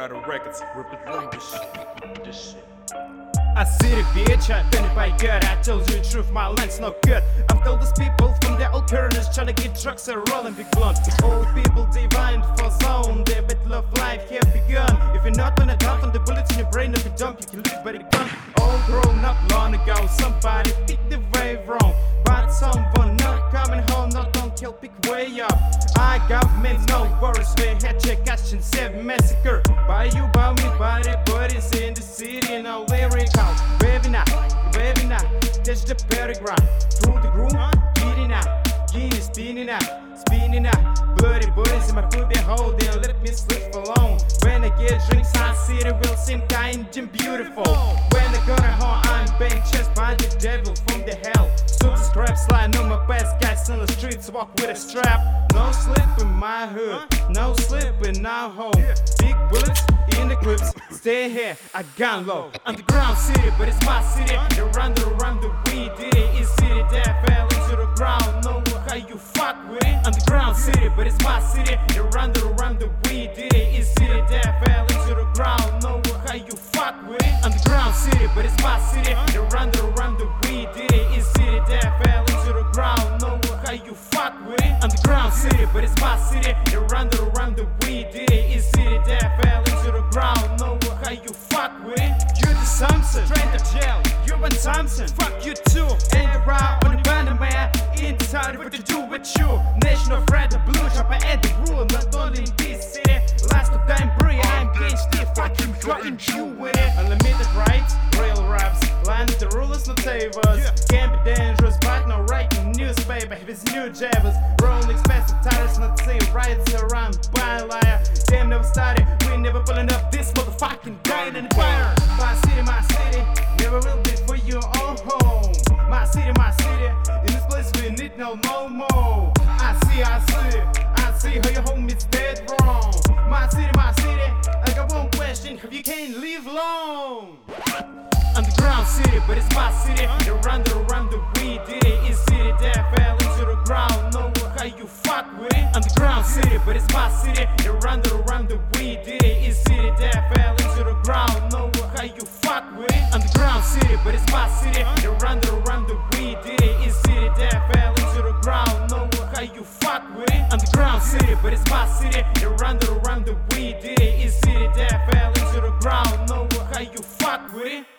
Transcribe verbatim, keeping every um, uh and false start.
Battle Records, represent this shit. This shit. I see the bitch, I been it by good. I told you the truth, my line's no good. I've told these people from their old pyramids trying to get trucks and rolling big blunt. Old people divine for zone, their bit love life have begun. If you're not gonna dump on the bullets in your brain of a dump, you can live by the gun. All grown up long ago, somebody picked the way wrong. But someone not coming home, not don't kill, pick way up. I government no worries, we had check action, seven massacre. By you, by me, by the buddies in the city, no lyrical. Waving up, waving up, touch the paragraph. Through the groove, beating up, getting spinning up, spinning up. Bloody bodies in my food, they hold, they let me slip alone. When I get drinks, I see the will seem kind and beautiful. When I go to home, I'm being chased by the devil from the hell. So the scrap slide on my best guys on the streets, walk with a strap. No slip in my hood, no slip in our home. Big bullets in the clips, stay here, I gun low. Underground city, but it's my city. They run the around the weed, did it? It's city that fell into the ground. Know how you fuck with it. Underground city, but it's my city. They run the around the weed, did it? It's city that fell into the ground. Know how you fuck with it. Underground city, but it's my city. They run the around the weed, did it? It's city that fell into the ground. Know how you fuck with it. Underground city, but it's my city. They run the around the weed, did it? It's city that fell into the ground. Know how you fuck with it. You're the Samson, straight to jail. You're one Samson, fuck you too. Ain't around on the banner man. Inside what to do with you. National threat, the blue shop, I add the rule. Not only in this city. Last of time, brie, I'm getting stiff. Fucking fucking you with it. Unlimited rights, real raps. Land the rulers, no savers. Can be dangerous, but no writing newspaper. With new jabbers, rolling expensive tires, not say rights around by liar. Damn, never started. We never pulling up this motherfucking guy in the fire. My city, my city, never will be for your own home. My city, my city, in this place we need no no more. I see, I see, I see how your home is dead wrong. My city, my city, I got one question, have you can't live long? Underground city, but it's my city. They run the around the weed, did it? It's city that fell into the ground. Know how you fuck with it. Underground city, but it's my city. They run the around the weed, did it? It's city that fell into the ground. Know how you fuck with it. Underground city, but it's my city. They run the around the weed, did it? It's city that fell into the ground. Know how you fuck with it. Underground city, but it's my city. They run the around the weed, did it? It's city that fell into the ground. Know how you fuck with it.